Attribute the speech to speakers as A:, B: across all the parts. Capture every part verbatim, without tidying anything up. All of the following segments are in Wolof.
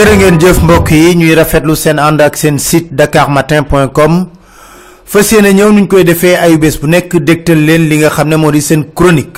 A: jërë ngeen jëf mbokk yi ñuy rafetlu seen ànd ak seen site dakar matin point com fas yéene ñëw nuñ koy defee ayu bés bu nekk dégtal leen li nga xam ne moo di seen chronique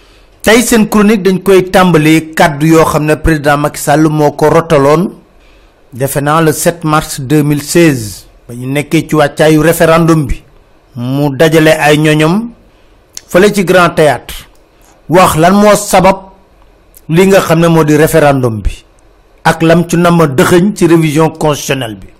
A: tey seen chronique dañ koy tàmbalee kàddu yoo xam ne président Macky Sall moo ko rotaloon defe naa le sept mars deux mille seize ba ñu nekkee ci wàccaayu référendum bi mu dajale ay ñoñom fële ci grand théâtre wax lan moo sabab li nga xam ne moo di référendum bi ak lam ci nama dëxëñ ci révision constitutionnelle bi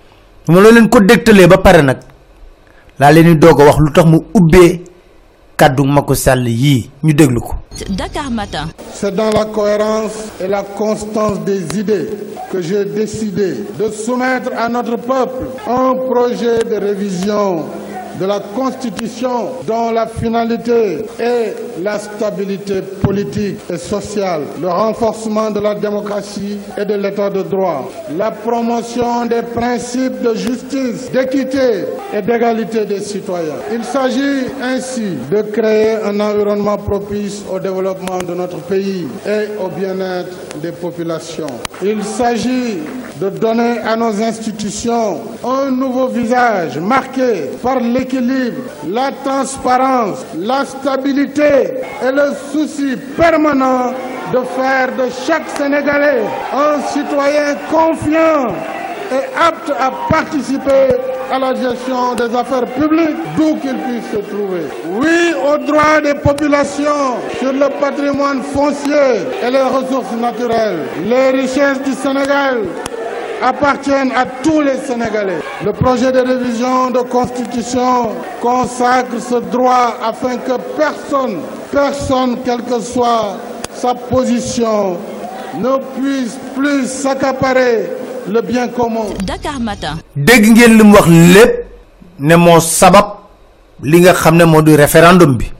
A: mo lo leen ko dégtalee ba pare nag laa leen di doog a wax lu tax mu ubbee kàddu Macky Sall yii ñu déglu ko.
B: Dakar Matin.
C: C'est dans la cohérence et la constance des idées que j'ai décidé de soumettre à notre peuple un projet de révision de la Constitution dont la finalité est la stabilité politique et sociale, le renforcement de la démocratie et de l'état de droit, la promotion des principes de justice, d'équité et d'égalité des citoyens. Il s'agit ainsi de créer un environnement propice au développement de notre pays et au bien-être des populations. Il s'agit de donner à nos institutions un nouveau visage marqué par l'équilibre, la transparence, la stabilité et le souci permanent de faire de chaque Sénégalais un citoyen confiant et apte à participer à la gestion des affaires publiques d'où qu'il puisse se trouver. Oui aux droits des populations sur le patrimoine foncier et les ressources naturelles. Les richesses du Sénégal appartiennent à tous les Sénégalais. Le projet de révision de constitution consacre ce droit afin que personne, personne, quelle que soit sa position, ne puisse plus s'accaparer le bien commun.
B: Dakar Matin.
A: dégg ngeen lim wax lépp ne moo sabab li nga xam ne moo di référendum bi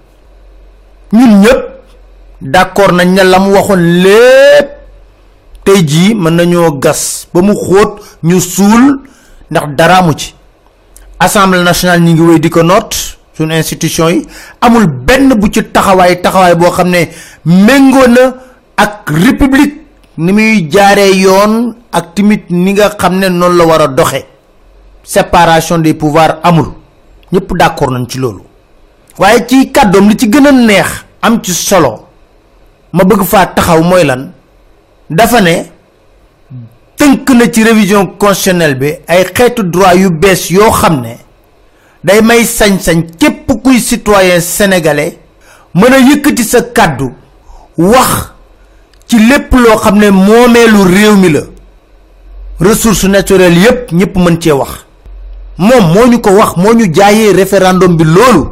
A: ñun ñëpp d'accord nañ ne la mu waxoon lépp tey jii mën nañoo gas ba mu xóot ñu suul ndax dara mu ci assemblée nationale ñi ngi wéy di ko note suñu institution yi amul benn bu ci taxawaay taxawaay boo xam ne méngoo na ak république ni muy jaaree yoon ak timit ni nga xam ne noonu la war a doxe séparation des pouvoirs amul ñëpp d'accord nañ ci loolu waaye ci kàddoom li ci gën a neex am ci solo ma bëgg faa taxaw mooy lan dafa ne tënk na ci révision constitutionnelle bi ay xeetu droit yu bees yoo xam ne day may sañ-sañ képp kuy citoyen sénégalais mën a yëkkati sa kàddu wax ci lépp loo xam ne moomeelu réew mi la ressources naturelles yépp ñëpp mën cee wax moom moo ñu ko wax moo ñu jaayee référendum bi loolu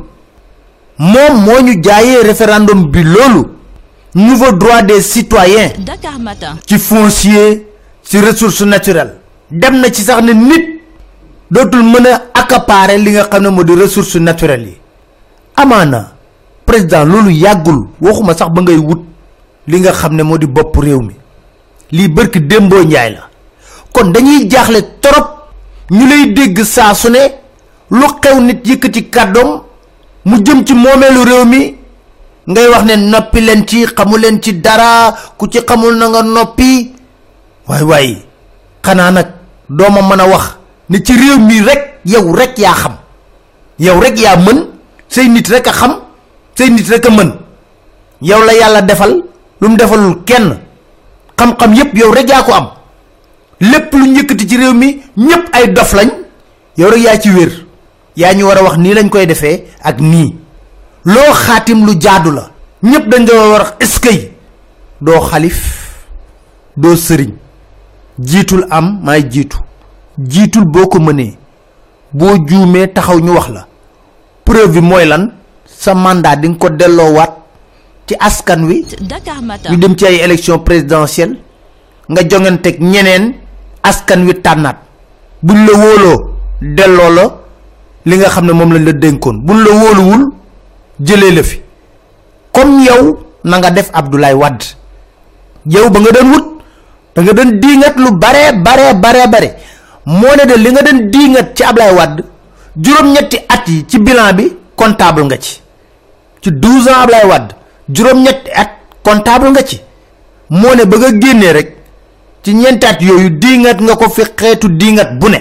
A: moom moo ñu jaayee référendum bi loolu nouveau droit des citoyens.
B: Dakar Matin.
A: ci foncier ci ressources naturelles dem na ci sax ne nit dootul mën a accaparer li nga xam ne moo di ressources naturelles yi amaana président loolu yàggul waxuma sax ba ngay wut li nga xam ne moo di bopp réew mi lii bërki démboo njaay la kon dañuy jaaxle trop ñu lay dégg saa su ne lu xew nit yëkkati kàddoom mu jëm ci moomeelu réew mi ngay wax ne noppi leen ci xamu leen ci dara ku ci xamul na nga noppi waay waay xanaa nag dooma mën a wax ne ci réew mi rek yow rek yaa xam yow rek yaa mën say nit rek a xam say nit rek a mën yow la yàlla defal lu mu defalul kenn xam-xam yépp yow rek yaa ko am lépp lu njëkkati ci réew mi ñépp ay dof lañ yow rek yaa ci wér yaa ñu war a wax nii lañ koy defee ak nii loo xaatim lu jaadu la ñépp dañ doon war a eskay doo xalif doo sëriñ jiitul am maay jiitu jiitul boo ko mënee boo juumee taxaw ñu wax la preuve bi mooy lan sa mandat di nga ko delloowaat ci askan wi
B: Dakar Matin.
A: ñu dem ci ay élection présidentielle nga jonganteeg ñeneen askan wi tànnaat buñ la wóoloo delloo la li nga xam ne moom lañ la dénkoon buñ la wóoluwul jëlee la fi comme yow na nga def Abdoulaye Wade yow ba nga doon wut da nga doon diingat lu bare bare bare bare moo ne de li nga doon diingat ci Abdoulaye Wade juróom-ñetti at yi ci bilan bi comptable nga ci ci douze ans Abdoulaye Wade juróom-ñetti at comptable nga ci moo ne ba nga génnee rek ci ñentaat yoyu dingat nga ko fi xéetu dingat bu ne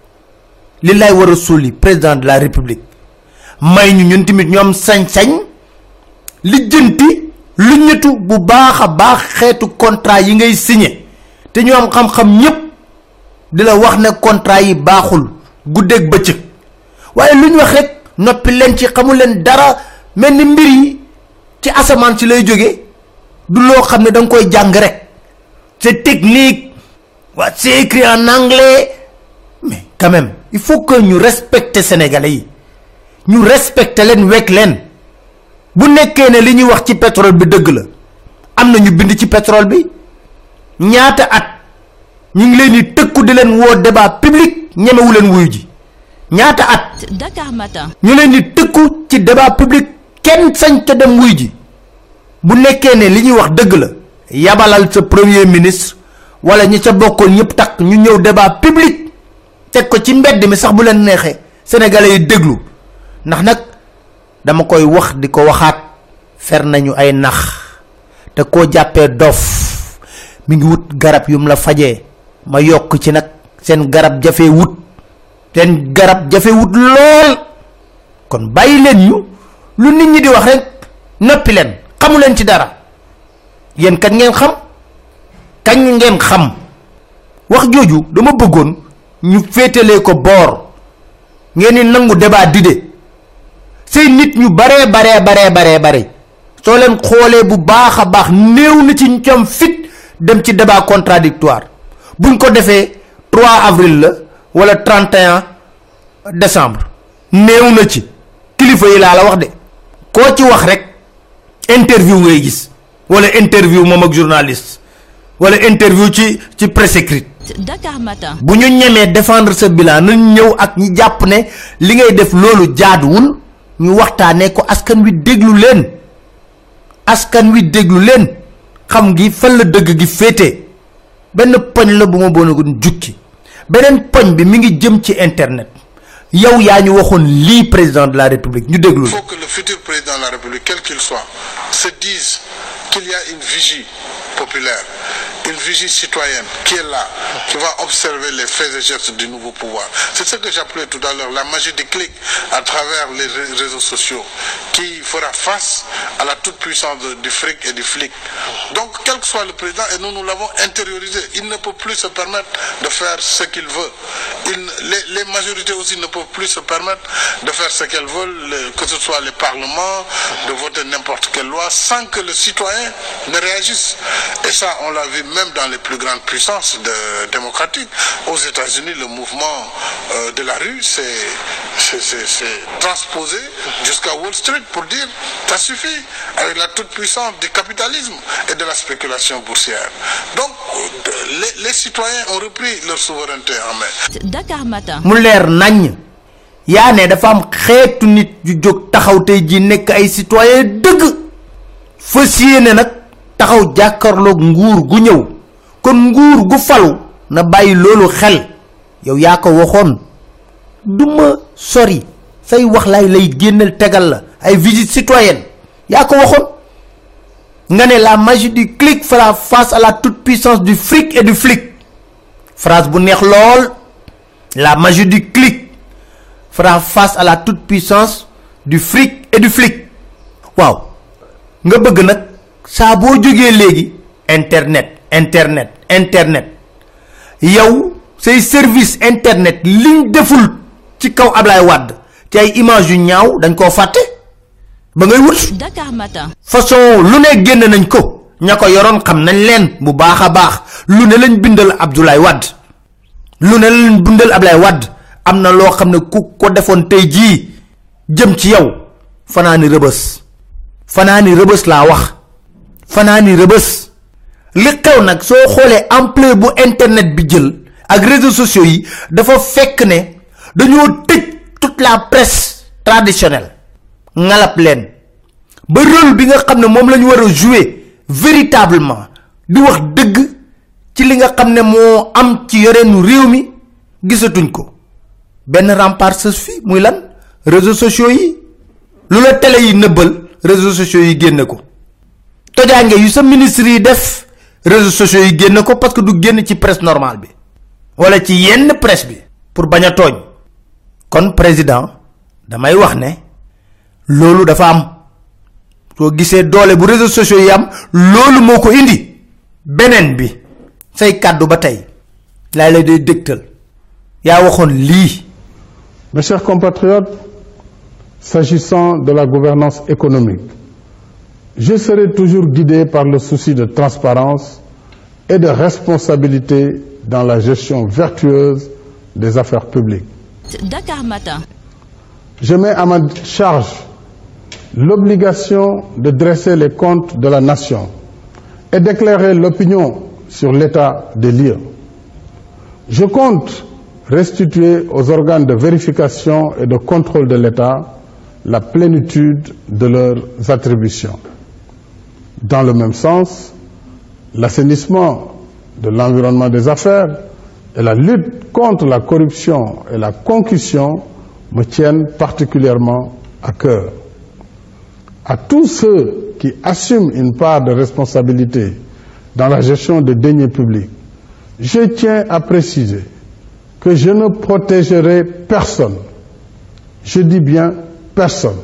A: li lay wara soli président de la république may ñu ñun timit ñom sañ-sañ li jënti lu ñëtu bu baaxa baax xéetu contrat yi ngay signé té ñu am xam-xam ñëpp dila wax né contrat yi baaxul guddék bëccëg waye luñ wax rek nopi len ci xamul len dara melni mbir yi ci asaman ci lay joggé du lo xamné dang koy jang rek c'est technique wa c'est écrit en anglais mais quand même il faut que ñu respecter sénégalais yi ñu respecter len wek len bu nekké né li ñuy wax ci pétrole bi dëgg la amna ñu bind ci pétrole bi ñaata at ñi ngi leen di tekku di leen wo débat public ñemewu leen wuyu ji ñaata at
B: Dakar Matin
A: ñu leen di tekku ci débat public kenn sañ ta dem wuyu ji bu nekké né li ñuy wax dëgg la yabalal sa premier ministre wala ñi ca bokkol ñep tak ñu ñew débat public tek ko ci mbedd mi sax bu leen nexé sénégalais yi déglu ndax nak dama koy wax diko waxat fer nañu ay nax te ko jappé dof mi ngi wut garab yum la fajé ma yok ci nak sen garab jafé wut ten garab jafé wut lol kon bayi len ñu lu nit ñi di wax rek nopi len xamu len ci dara yen kat ngeen xam kañ ngeen xam wax joju dama bëggoon ñu fétalé ko bor ngeen ni nangu débat didé sey nit ñu bare bare bare bare bare so len xolé bu baaxa baax neew na ci ñom fit dem ci débat contradictoire buñ ko défé trois avril la wala trente et un décembre neew na ci kilifa yi la la wax de ko ci wax rek interview ngay gis wala interview mom ak journaliste wala interview ci ci presse écrite
B: Dakar Matin
A: bu ñu ñëmé défendre ce bilan nañ ñëw ak ñi japp né li ngay def lolu jaaduwul ñu waxtané ko askan wi déglu leen askan wi déglu leen xam gi fa la dëgg gi fété ben poñ la bu ma bonagun jukki benen poñ bi mi ngi jëm ci internet yow yaa ñu waxoon lii président de la république ñu déglu.
D: Il faut que le futur président de la république quel qu'il soit se dise qu'il y a une vigie populaire, une vigie citoyenne qui est là, qui va observer les faits et gestes du nouveau pouvoir. C'est ce que j'appelais tout à l'heure la magie du clic à travers les réseaux sociaux qui fera face à la toute puissance du fric et du flic. Donc quel que soit le président, et nous nous l'avons intériorisé, il ne peut plus se permettre de faire ce qu'il veut. Il, les, les majorités aussi ne peuvent plus se permettre de faire ce qu'elles veulent, que ce soit les parlements, de voter n'importe quelle loi sans que le citoyen ne réagisse. Et ça, on l'a vu même dans les plus grandes puissances de, démocratiques. Aux États-Unis, le mouvement euh, de la rue s'est transposé jusqu'à Wall Street pour dire ça suffit avec la toute puissance du capitalisme et de la spéculation boursière. Donc, les, les citoyens ont repris leur souveraineté en main.
B: Dakar Matin.
A: mu leer nañ yaa ne dafa am xeetu nit yu jóg taxaw tey ji nekk ay citoyen dëgg fas yéene nag taxaw jàkkarloog nguur gu ñëw kon nguur gu falu na bàyyi loolu xel yow yaa ko waxoon duma sori say wax lay lay génnal tegal la ay visite citoyenne yaa ko waxoon nga ne la magie du clic fera face à la toute puissance du fric et du flic phrase bu neex lool la magie du clic fera face à la toute puissance du fric et du flic waaw nga bëgg nak sa bo joggé légui internet internet internet yow say service internet liñ deful ci kaw Ablaye Wade ci ay image yu ñaaw dañ ko faté ba ngay wut
B: Dakar Matin
A: façon lu ne genn nañ ko ñako yoron xam nañ leen bu baaxa baax lu ne lañ bindal Abdoulaye Wade lu ne lañ bindal Ablaye Wade amna lo xamne ku ko defon tay ji jëm ci yow fanani rebeus fanani rebeus la wax fanani rebeus li xew nak so xolé ampleur bu internet bi jël ak réseaux sociaux yi dafa fekk ne dañoo tëj toute la presse traditionnelle ngalap len ba rôle bi nga xamne mom lañu wara jouer véritablement di wax deug ci li nga xamne mo am ci yoreenu réew mi gisatuñ ko ben rempart se fi muy lan réseaux sociaux yi lu la télé yi neubal réseaux sociaux yi génné ko tojange yu sa ministre yi def réseaux sociaux yi génn ko parce que du génn ci presse normale bi wala ci yenn presse bi pour bañ a tooñ kon président damay wax ne loolu dafa am soo gisee doole bu réseaux sociaux yi am loolu moo ko indi beneen bi say kàddu ba tey laa lay day dégtal yaa waxoon lii.
C: Mes chers compatriotes, s'agissant de la gouvernance économique, je serai toujours guidé par le souci de transparence et de responsabilité dans la gestion vertueuse des affaires publiques.
B: Dakar Matin.
C: Je mets à ma charge l'obligation de dresser les comptes de la nation et d'éclairer l'opinion sur l'état des lieux. Je compte restituer aux organes de vérification et de contrôle de l'État la plénitude de leurs attributions. Dans le même sens, l'assainissement de l'environnement des affaires et la lutte contre la corruption et la concussion me tiennent particulièrement à cœur. À tous ceux qui assument une part de responsabilité dans la gestion des deniers publics, je tiens à préciser que je ne protégerai personne. Je dis bien personne.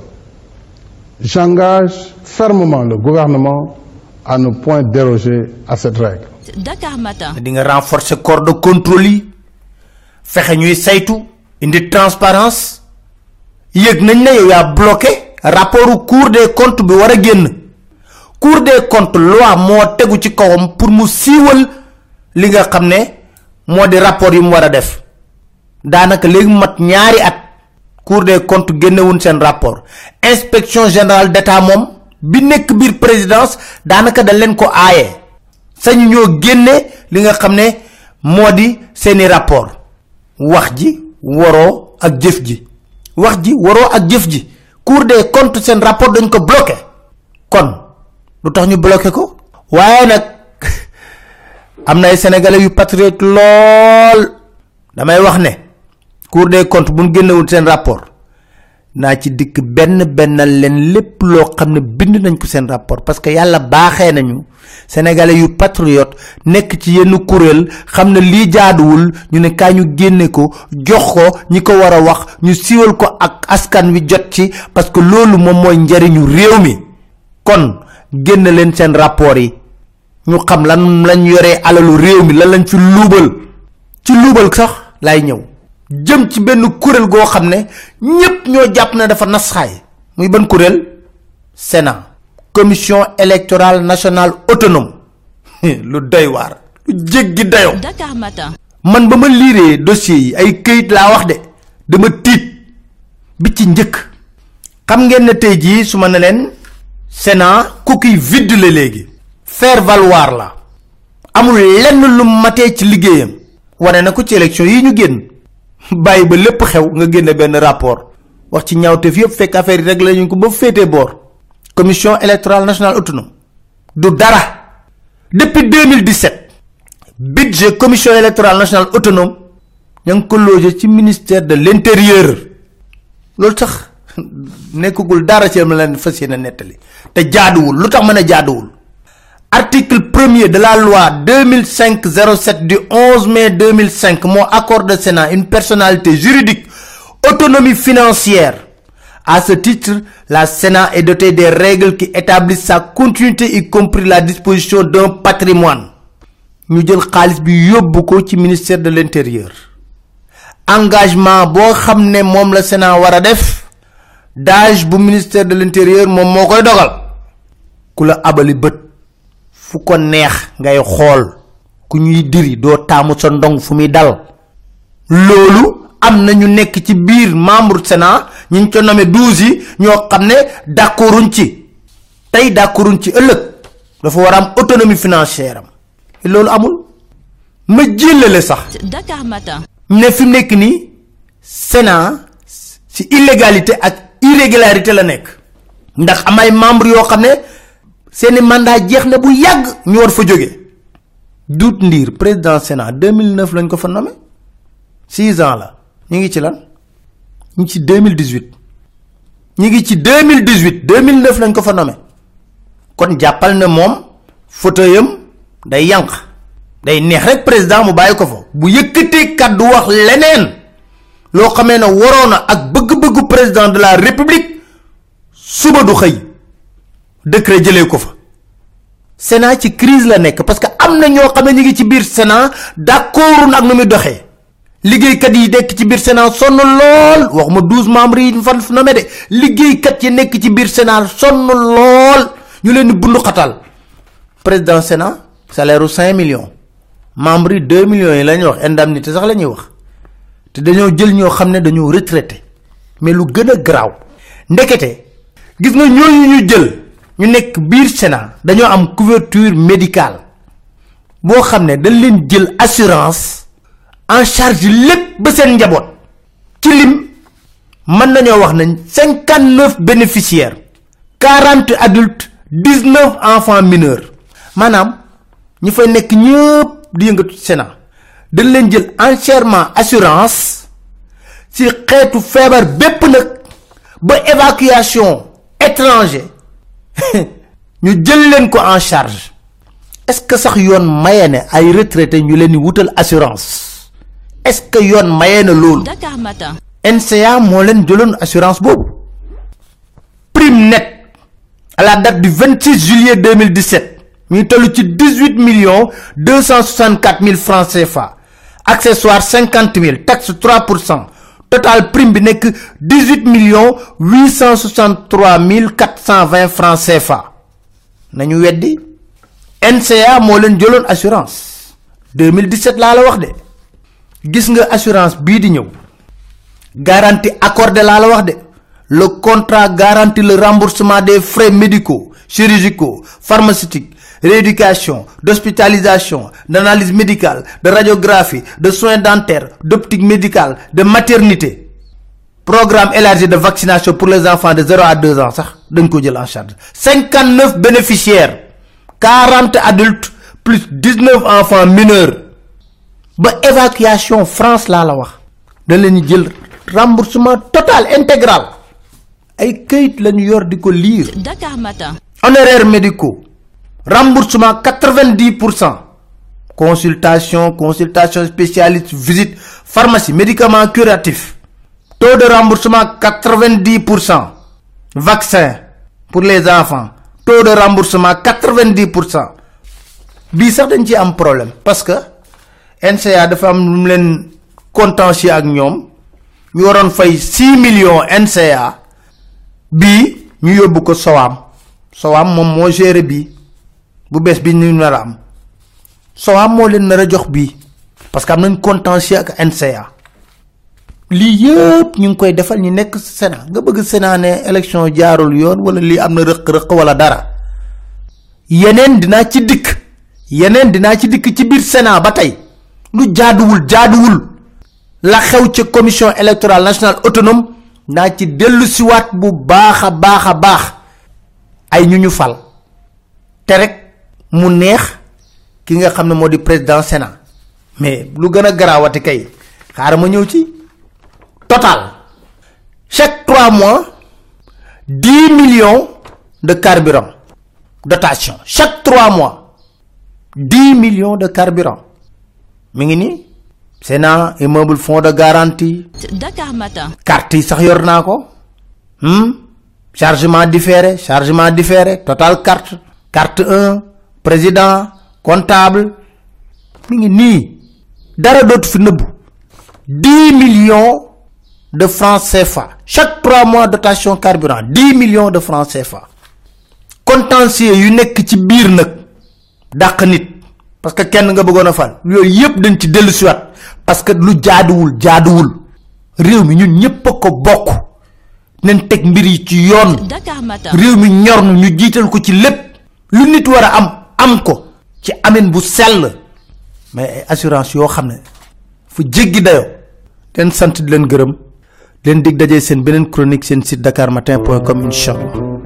C: J'engage fermement le gouvernement à ne point déroger à cette règle.
B: Dakar Matin.
A: di nga renforcer corps de contrôle yi fexe ñuy saytu indi transparence yëg nañ ne yow yaa bloqué rapport Cour des comptes bi war a génn Cour des comptes loi moo tegu ci kawam pour mu siiwal li nga xam ne moo di rapport yi mu war a def daanaka léegi mat ñaari at Cour des comptes génnewuñ seen rapport inspection générale d'État moom bi nekk biir présidence daanaka da leen ko aaye sañu ñoo génne li nga xam ne moo di seeni rapport wax ji waroo ak jëf ji wax ji waroo ak jëf ji Cour des comptes seen rapport dañ ko bloqué kon lu tax ñu bloqué ko waaye nag am na ay sénégalais yu patriote lool damay wax ne Cour des comptes bu ñu génnewul seen rapport naa ci dikk benn bennal leen lépp loo xam ne bind nañ ko seen rapport parce que yàlla baaxee nañu sénégalais yu patriote nekk ci yenn kuréel xam ne lii jaaduwul ñu ne kaa ñu génne ko jox ko ñi ko war a wax ñu siiwal ko ak askan wi jot ci parce que loolu moom mooy njariñu réew mi kon génn leen seen rapport yi ñu xam lan lañ yoree alalu réew mi lan lañ fi luubal ci luubal sax lay ñëw jëm ci benn kuréel goo xam ne ñépp ñoo jàpp ne dafa nasxaay muy ban kuréel Sénat commission électorale nationale autonome lu doy waar lu jéggi dayoo.
B: Dakar Matin.
A: man ba ma liiree dossier yi ay këyit laa wax de dama tiit bi ci njëkk xam ngeen ne tey jii su ma ne leen Sénat coquille vide la léegi faire valoir la amul lenn lu matee ci liggéeyam wane na ko ci élection yi ñu génn bàyyi ba lépp xew nga génne benn rapport wax ci ñaawteef yëpp fekk affaire yi rek la ñu ko ba féetee boor commission électorale nationale autonome du dara depuis deux mille dix-sept budget commission électorale nationale autonome ña ngi ko logé ci ministère de l'intérieur loolu sax nekkagul dara ci ma leen fas yéene nettali te jaaduwul lu tax mën a jaaduwul article premier de la loi deux mille cinq zéro sept du onze mai deux mille cinq moo accorde au Sénat une personnalité juridique autonomie financière. À ce titre, la Sénat est doté des règles qui établissent sa continuité, y compris la disposition d'un patrimoine. Ñu jël xaalis bi yóbbu ko ci ministère de l'intérieur. Engagement boo xam ne moom la Sénat war a def dage bu ministère de l'intérieur moom moo koy dogal ku la abali bët fu ko neex ngay xool ku ñuy diri doo taamu sa ndong fu muy dal loolu am na ñu nekk ci biir membre Sénat ñu ngi ko nommé douze yi ñoo xam ne d'accorduñ ci tey d'accorduñ ci ëllëg dafa war a am autonomie financière am loolu amul ma jëlale sax.
B: Dakar Matin.
A: ne fi mu nekk nii Sénat ci illégalité ak irrégularité la nekk ndax am ay membre yoo xam ne seeni mandat jeex na bu yàgg ñu war fa jóge Dout Ndir président Sénat deux mille neuf lañ ko fa nommé six ans la ñu ngi ci lan ñu ngi ci deux mille dix-huit ñu ngi ci deux mille dix-huit deux mille neuf lañ ko fa nommé kon jàppal ne moom fauteuilam day yank day neex rek président mu bayiko fa bu yëkëté kaddu wax leneen lo xamé na warona ak bëgg-bëggu président de la république suba du xey décret jëlé ko fa Sénat ci crise la nek parce que amna ño xamé ñi ngi ci biir Sénat d'accord nak nu mi doxé liggéey kat yi nek ci biir Sénat sonn lool waxuma douze membres yi fan fu nomé dé liggéey kat yi nek ci biir Sénat sonn lool ñu leen bundu xatal président Sénat salaire cinq millions membres deux millions yi lañ wax indemnité sax lañuy wax té dañoo jël ño xamné dañoo retraité mais lu gëna graw ndekete gis nga ñooñu ñu jël ñu nek biir Sénat dañoo am couverture médicale bo xamné dañ leen jël assurance en charge lepp ba sen njabot ci lim man nañu wax nañ cinquante-neuf bénéficiaires quarante adultes dix-neuf enfants mineurs manam ñi fay nek ñepp di yëngatu Sénat dañ leen jël entièrement assurance ci xétu fièvre bépp nak ba évacuation étranger ñu jël leen ko en charge est-ce que sax yoon mayene ay retraité ñu leen wutal assurance est-ce que yoon mayene lool
B: Dakar Matin
A: N C A mo leen jëlone assurance bobu prime net à la date du vingt-six juillet deux mille dix-sept ñu tollu ci dix-huit millions deux cent soixante-quatre mille francs C F A accessoires cinquante mille taxe trois pour cent total prime bi nek dix-huit millions huit cent soixante-trois mille quatre cent vingt francs C F A nañu weddi N C A mo leen jëlone assurance deux mille dix-sept la la wax de gis nga assurance bi di ñew garantie accordée la la wax de le contrat garantit le remboursement des frais médicaux chirurgicaux pharmaceutiques rééducation d'hospitalisation d'analyse médicale de radiographie de soins dentaires d'optique médicale de maternité programme élargi de vaccination pour les enfants de zéro à deux ans sax dañ ko jël en charge cinquante-neuf bénéficiaires quarante adultes plus dix-neuf enfants mineurs ba évacuation France la la wax dañ leen jël remboursement total intégral ay keuyit lañu yor diko lire
B: Dakar Matin
A: honoraires médicaux remboursement quatre-vingt-dix pour cent consultation consultation spécialiste visite pharmacie médicaments curatifs taux de remboursement quatre-vingt-dix pour cent vaccin pour les enfants taux de remboursement quatre-vingt-dix pour cent bi sax dañ ci am problème parce que N C A dafa am lu leen contentieux ak ñom ñu waron fay six millions N C A bi ñu yobbu ko Sowam Sowam mom mo gérer bi bu bes bi ñu nara am Sowam mo leen nara jox bi parce que am nañ contentieux ak N C A li yépp ñu ngi koy defal ñi nekk Sénat nga bëgg Sénat né élection jaarul yoon wala li am na rëq rëq wala dara yenen dina ci dik yenen dina ci dik ci bir Sénat ba tay lu jaaduwul jaaduwul la xew ci commission électorale nationale autonome na ci delu ci wat bu baaxa baaxa baax ay ñu ñu fal té rek mu neex ki nga xamne modi président Sénat mais lu gëna garawati kay xaar ma ñew ci total chaque trois mois dix millions de carburant dotation chaque trois mois dix millions de carburant mi ngi ni Sénat immeuble fonds de garantie
B: Dakar Matin
A: carte yi sax yor nako hmm chargement différé chargement différé total carte carte un président comptable mi ngi ni dara dot fi neub dix millions de francs C F A chaque trois mois dotation carburant dix millions de francs C F A contentieux yu nek ci bir nak dak nit parce que kenn nga bëggona fal yoy yépp dañ ci delu ci wat parce que lu jaaduwul jaaduwul réew mi ñun ñepp ko bokk nañ tek mbir yi ci yoon
B: Dakar Matin
A: réew mi ñor ñu jital ko ci lepp lu nit wara am am ko ci amen bu sel mais assurance yo xamne fu jéggi dayo den sant di len gërëm len dig dajé sen benen chronique sen site dakar matin point com inshallah